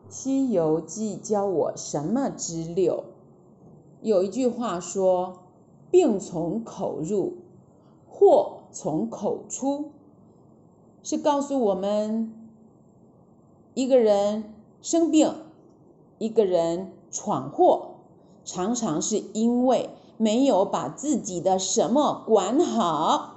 西遊記教我什麼之六？有一句話說，病從口入，禍從口出，是告訴我們一個人生病，一個人闖禍，常常是因為沒有把自己的什麼管好。